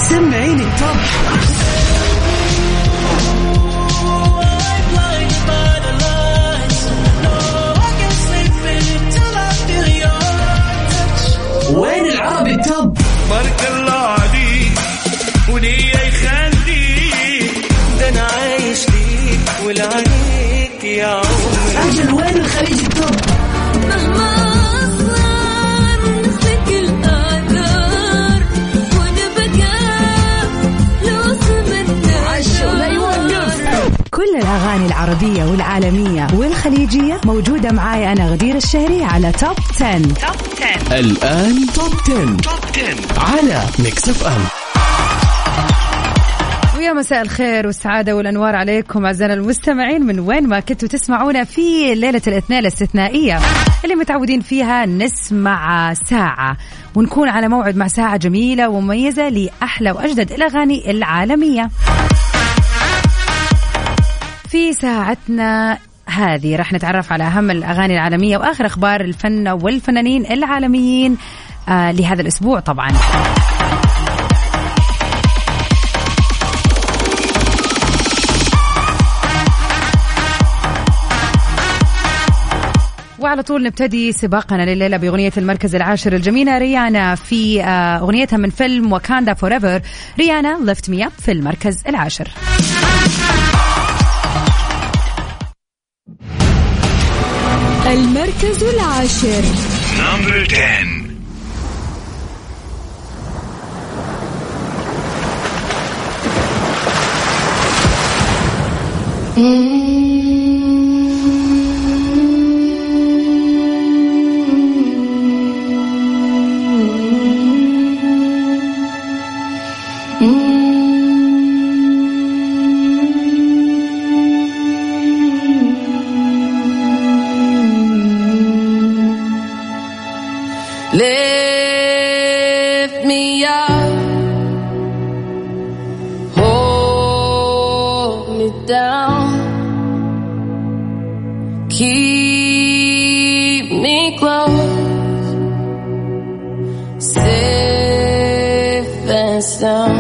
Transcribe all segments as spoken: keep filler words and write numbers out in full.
سمعيني التوب. وين العربي التوب؟ بارك الله عليك ولي يخليك، ده انا عايش ليك ولعنيك يا عمري. أجل وين الخليج التوب؟ مهما أصغر نسلك الآثار ونبقى لوصل من عشو لا يوقف. كل الأغاني العربية والعالمية والخليجية موجودة معاي أنا غدير الشهري على توب عشرة. توب عشرة الآن توب عشرة. توب عشرة على ميكس اف ام. ويا مساء الخير والسعادة والأنوار عليكم أعزائنا المستمعين من وين ما كنتوا تسمعونا في ليلة الاثنين الاستثنائية اللي متعودين فيها نسمع ساعة ونكون على موعد مع ساعة جميلة ومميزة لأحلى وأجدد الأغاني العالمية. في ساعتنا هذه راح نتعرف على أهم الأغاني العالمية وآخر أخبار الفن والفنانين العالميين آه لهذا الأسبوع طبعا. وعلى طول نبتدي سباقنا لليلة بأغنية المركز العاشر الجميلة ريانا في آه أغنيتها من فيلم واكاندا فوريفر. ريانا ليفت مي اب في المركز العاشر. المركز العاشر. Number ten. Lift me up, hold me down, keep me close, safe and sound.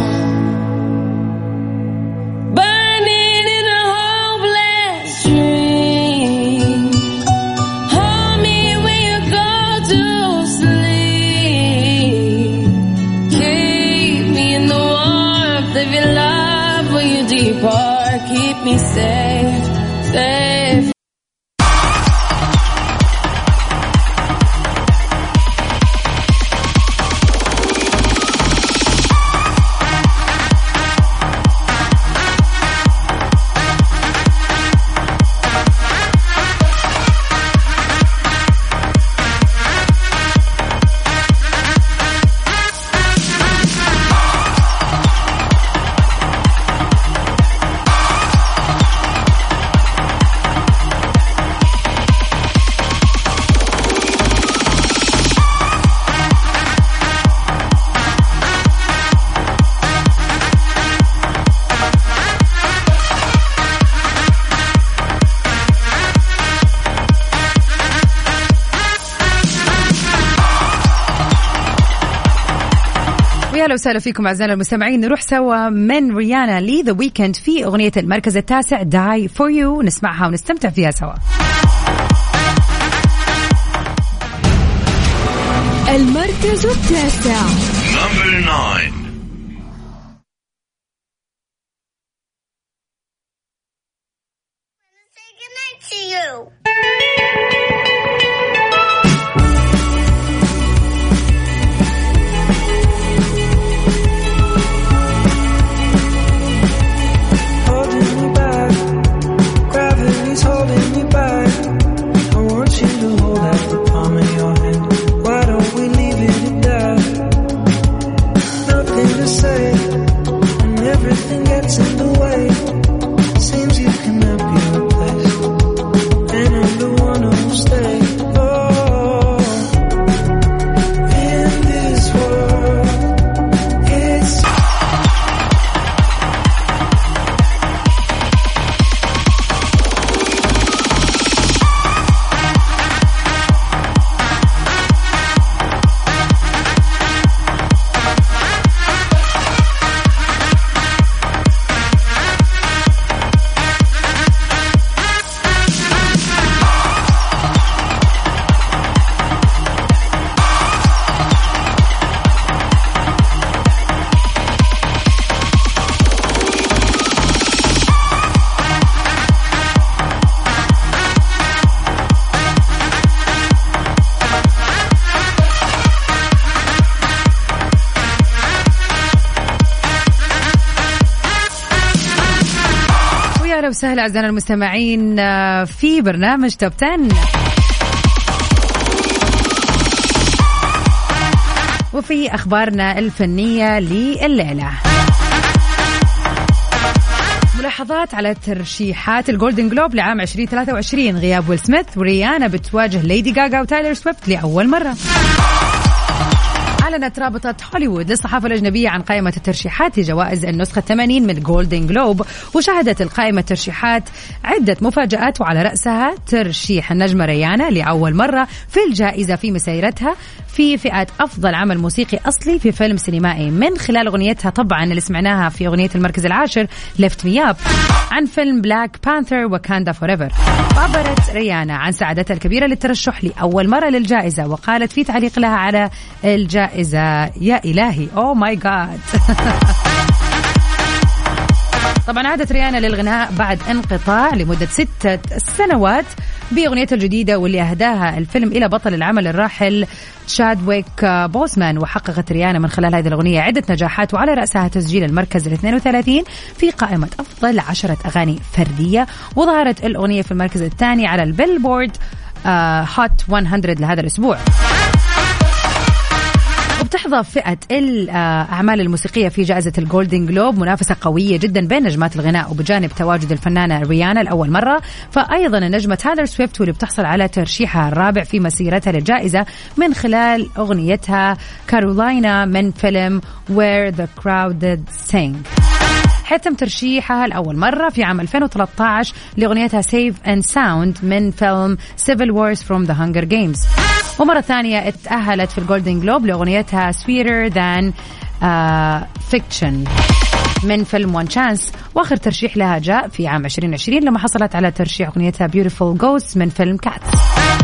Keep me safe, safe. أهلا وسهلا فيكم أعزائنا المستمعين. نروح سوا من ريانا لي ذا ويكند في أغنية المركز التاسع Die For You، نسمعها ونستمتع فيها سوا. المركز التاسع. Number nine. هلا وسهلا أعزائنا المستمعين في برنامج توب عشرة. وفي أخبارنا الفنية لليلة ملاحظات على ترشيحات الجولدن جلوب لعام عشرين ثلاثة وعشرين. غياب ويل سميث وريانا بتواجه ليدي غاغا وتايلر سويفت لأول مرة. أعلنت رابطة هوليوود للصحافة الأجنبية عن قائمة الترشيحات لجوائز النسخة الثمانين من جولدن جلوب، وشهدت القائمة ترشيحات عدة مفاجآت وعلى رأسها ترشيح النجمة ريانا لأول مرة في الجائزة في مسيرتها في فئة أفضل عمل موسيقي أصلي في فيلم سينمائي من خلال أغنيتها طبعا اللي سمعناها في أغنية المركز العاشر Lift Me Up عن فيلم بلاك بانثر وكاندا فوريفر. عبرت ريانا عن سعادتها الكبيرة للترشح لأول مرة للجائزة، وقالت في تعليق لها على الجائزة: يا إلهي أوه ماي جاد. طبعا عادت ريانا للغناء بعد انقطاع لمدة ستة سنوات بأغنيتها الجديدة واللي أهداها الفيلم إلى بطل العمل الراحل شادويك بوسمان. وحققت ريانا من خلال هذه الأغنية عدة نجاحات وعلى رأسها تسجيل المركز الاثنين وثلاثين في قائمة أفضل عشرة أغاني فردية، وظهرت الأغنية في المركز الثاني على البيلبورد هوت مئة لهذا الأسبوع. وبتحظى فئة الأعمال الموسيقية في جائزة الجولدن جلوب منافسة قوية جدا بين نجمات الغناء، وبجانب تواجد الفنانة ريانا لأول مرة، فأيضا النجمة تايلر سويفت واللي بتحصل على ترشيحها الرابع في مسيرتها للجائزة من خلال أغنيتها كارولاينا من فيلم Where the Crowded Sing، حيث تم ترشيحها الأول مرة في عام ألفين وثلاثة عشر لأغنيتها Safe and Sound من فيلم Civil Wars from the Hunger Games. ومرة ثانية اتأهلت في الجولدن جلوب لأغنيتها Sweeter Than uh, Fiction من فيلم One Chance. وآخر ترشيح لها جاء في عام عشرين عشرين لما حصلت على ترشيح أغنيتها Beautiful Ghosts من فيلم Cats.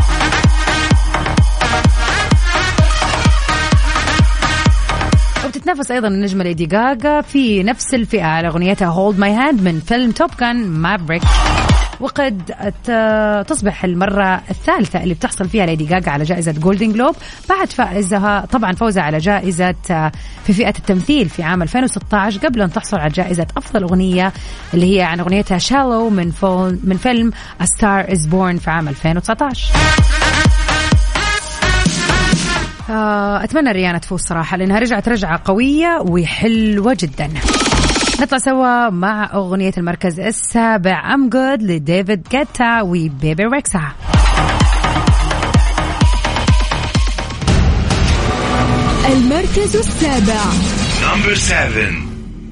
وبتتنافس أيضا النجمة ليدي غاغا في نفس الفئة على أغنيتها Hold My Hand من فيلم توب جان مافريك. وقد تصبح المرة الثالثة اللي بتحصل فيها ليدي غاغا على جائزة جولدن جلوب بعد فائزها طبعا فوزها على جائزة في فئة التمثيل في عام ألفين وستة عشر، قبل أن تحصل على جائزة أفضل أغنية اللي هي عن أغنيتها Shallow من من فيلم A Star Is Born في عام ألفين وتسعة عشر. أتمنى ريانا تفوز صراحة لأنها رجعت رجعة قوية وحلوة جدا. نطلع سوا مع أغنية المركز السابع I'm Good لديفيد غيتا وبيبي ريكسا. المركز السابع Number seven.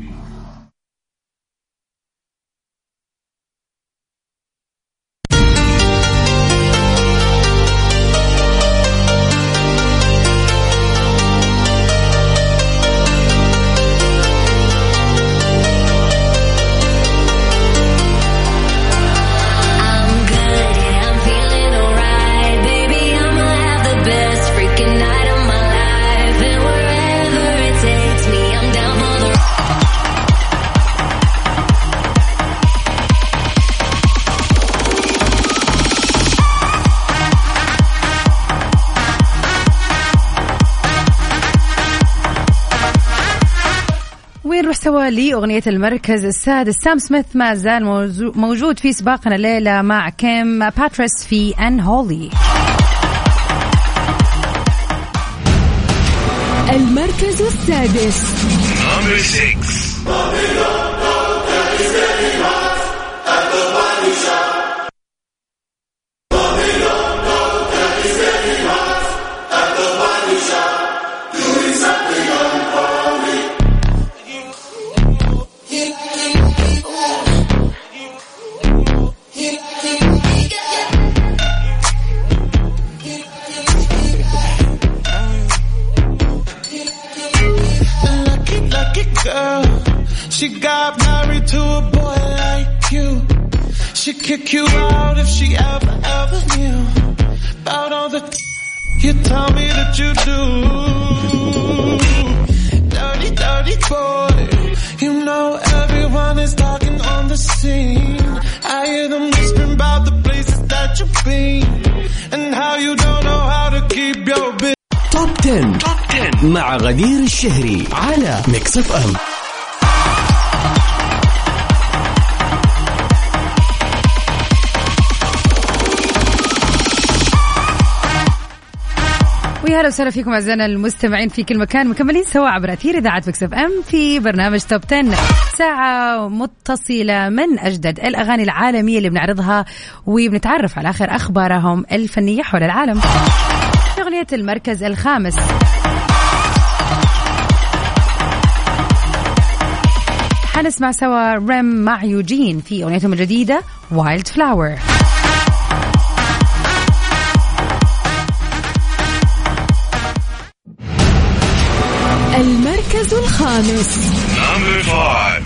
سوا لأغنية المركز السادس. سام سميث ما زال موجود في سباقنا الليلة مع كيم باتريس في Unholy. المركز السادس Number six. She got married to a boy like you. She'd kick you out if she ever, ever knew about all the you tell me that you do. Dirty, dirty boy. You know everyone is talking on the scene. I hear them whispering about the places that you've been and how you don't know how to keep your business. توب عشرة مع غدير الشهري على ميكس اف ام. ويا هلا وسهلا فيكم أعزائنا المستمعين في كل مكان، مكملين سوا عبر أثير إذاعة ميكس اف ام في برنامج توب عشرة، ساعة متصلة من أجدد الأغاني العالمية اللي بنعرضها وبنتعرف على آخر أخبارهم الفنية حول العالم. في أغنية المركز الخامس حنسمع سوا ريم مع يوجين في أغنيتهم الجديدة وايلد فلاور. المركز الخامس. Number five.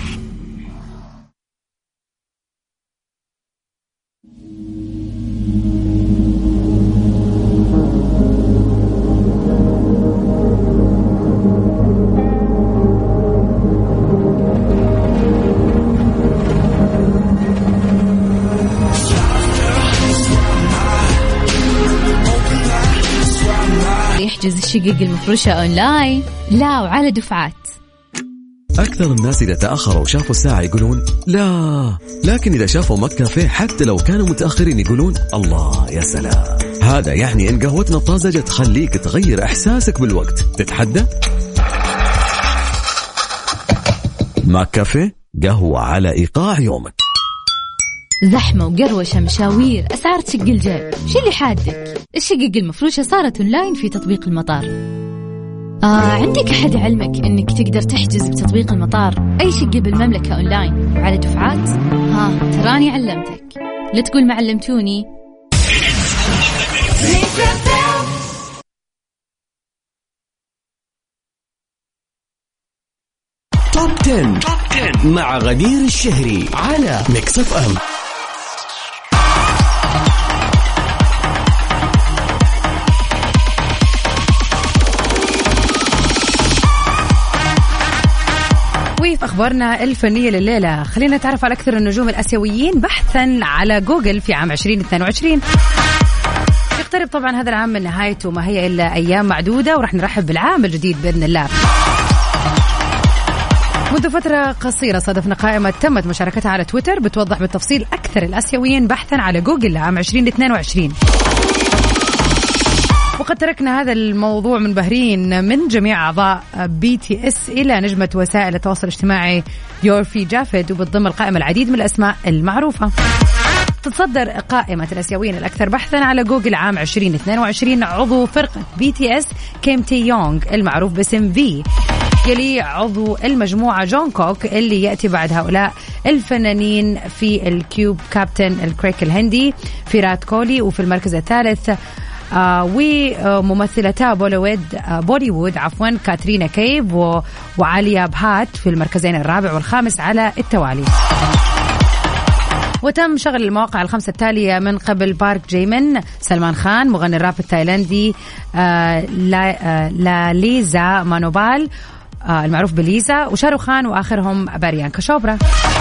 يحجز الشقق المفروشة أونلاين لا وعلى دفعات. أكثر الناس إذا تأخروا وشافوا الساعة يقولون لا، لكن إذا شافوا مك كافيه حتى لو كانوا متأخرين يقولون الله يا سلام. هذا يعني إن قهوتنا الطازجة تخليك تغير إحساسك بالوقت. تتحدى؟ مك كافيه، قهوة على إيقاع يومك. زحمة وقروشة مشاوير أسعار تشق الجيب، شو اللي حادك؟ الشقق المفروشة صارت أونلاين في تطبيق المطار. آه عندك أحد علمك أنك تقدر تحجز بتطبيق المطار أي شقة بالمملكة أونلاين وعلى دفعات؟ ها تراني علمتك، لا تقول ما علمتوني. توب عشرة مع غدير الشهري على ميكس اف ام. وفي أخبارنا الفنية لليلة خلينا نتعرف على أكثر النجوم الآسيويين بحثا على جوجل في عام عشرين اثنين وعشرين. يقترب طبعا هذا العام من نهايته، ما هي إلا أيام معدودة، ورح نرحب بالعام الجديد بإذن الله. منذ فترة قصيرة صادفنا قائمة تمت مشاركتها على تويتر بتوضح بالتفصيل أكثر الآسيويين بحثا على جوجل لعام عشرين اثنين وعشرين. وقد تركنا هذا الموضوع منبهرين من جميع أعضاء بي تي اس إلى نجمة وسائل التواصل الاجتماعي يورفي جافيد، وبتضم القائمة العديد من الأسماء المعروفة. تتصدر قائمة الآسيويين الأكثر بحثا على جوجل عام عشرين اثنين وعشرين عضو فرقة بي تي اس كيم تي يونغ المعروف باسم في، يلي عضو المجموعة جون كوك اللي يأتي بعد هؤلاء الفنانين في الكيوب كابتن الكريك الهندي فيرات كولي، وفي المركز الثالث آه وممثلتا بوليوود آه بوليوود عفوا كاترينا كيف و... وعاليا بهات في المركزين الرابع والخامس على التوالي. وتم شغل المواقع الخمسة التالية من قبل بارك جيمن، سلمان خان مغني الراب التايلاندي، آه لا, آه لا ليزا مانوبال آه المعروف بليزا، وشاروخ خان، وآخرهم باريانكا شوبرا.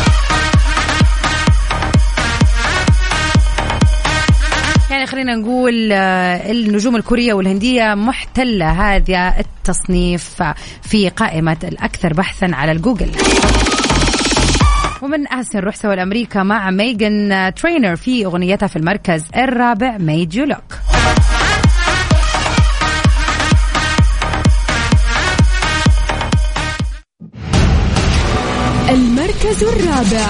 يعني خلينا نقول النجوم الكورية والهندية محتلة هذا التصنيف في قائمة الأكثر بحثا على الجوجل. ومن أحسن نروح سوا لأمريكا مع ميغان ترينر في أغنيتها في المركز الرابع Made You Look. المركز الرابع.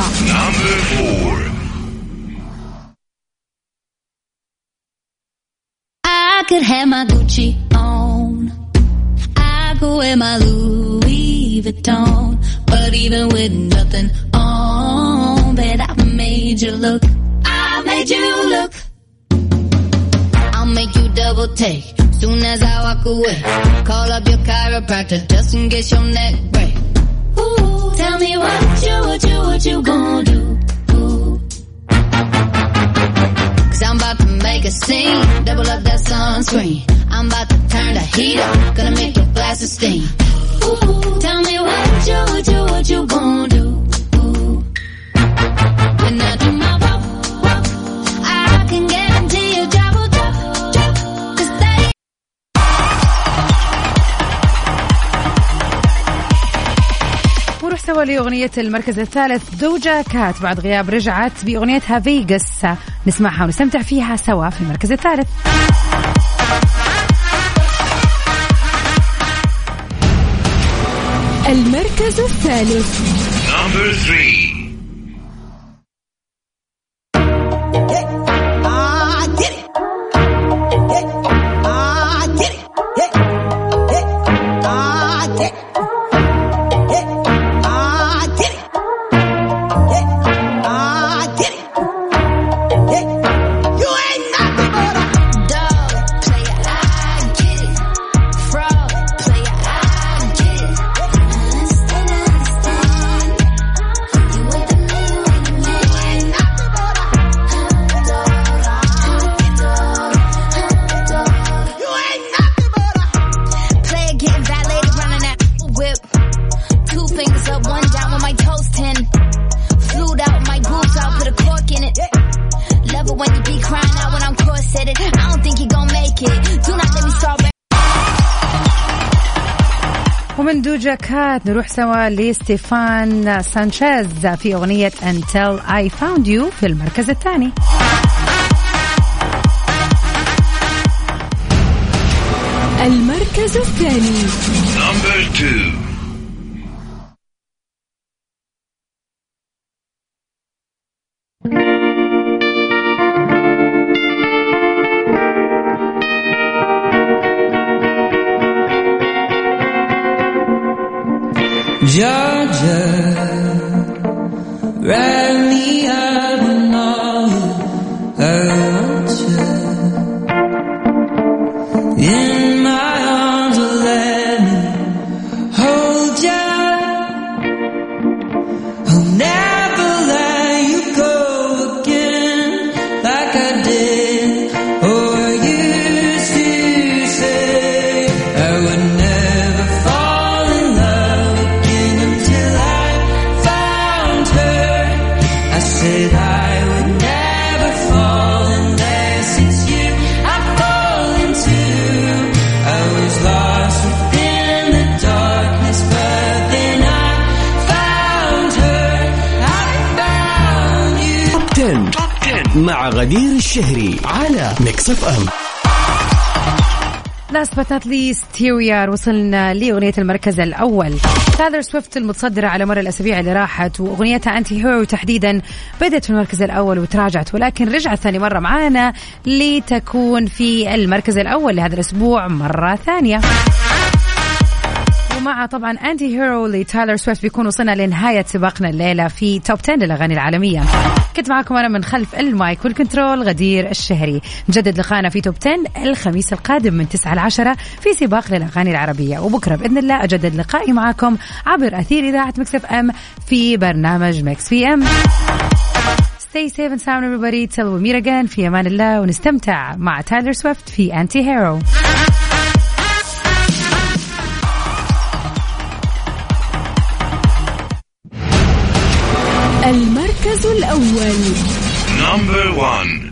I could have my Gucci on, I could wear my Louis Vuitton, but even with nothing on, bet I made you look, I made you look. I'll make you double take, soon as I walk away, call up your chiropractor just in case your neck break. Ooh, tell me what you, what you, what you gonna do. I'm about to make a scene, double up that sunscreen. I'm about to turn the heat up, gonna make your glasses steam. Ooh, tell me what you, what you, what you gonna do. Ooh. When I do my walk, walk, I can guarantee you drop, drop, drop. Cause they ونروح سوا لأغنية المركز الثالث دوجا كات، بعد غياب رجعت بأغنيتها فيغاس، نسمعها ونستمتع فيها سوا في المركز الثالث. المركز الثالث. Number three. ومن دوجا كات نروح سوا لستيفان سانشيز في أغنية Until I Found You في المركز الثاني. المركز الثاني. Number two. Georgia, write me up and all I want you in my arms, let me hold you. I'll never let you go again like I did or used to say. I would never fall in love again until I found her. I said I would never fall unless it's you I fall into. I was lost within the darkness, but then I found her. I found you. توب عشرة مع غدير الشهري على ميكس اف ام. Last but not least here we are. وصلنا لأغنية المركز الأول. تايلر سويفت المتصدرة على مر الأسابيع اللي راحت، وأغنيتها أنتي هيرو تحديدا بدأت في المركز الأول وتراجعت، ولكن رجعت ثاني مرة معانا لتكون في المركز الأول لهذا الأسبوع مرة ثانية. ومع طبعا أنتي هيرو لتايلر سويفت بيكون وصلنا لنهاية سباقنا الليلة في توب عشرة للأغاني العالمية. كنت معكم أنا من خلف المايك والكنترول غدير الشهري. نجدد لقاءنا في توب عشرة الخميس القادم من تسعة إلى عشرة في سباق للأغاني العربية، وبكرة بإذن الله أجدد لقائي معكم عبر أثير إذاعة ميكس اف ام في برنامج ميكس في ام. Stay safe and sound everybody till we meet again. في أمان الله، ونستمتع مع تايلر سويفت في أنتي هيرو. المركز الأول. Number one.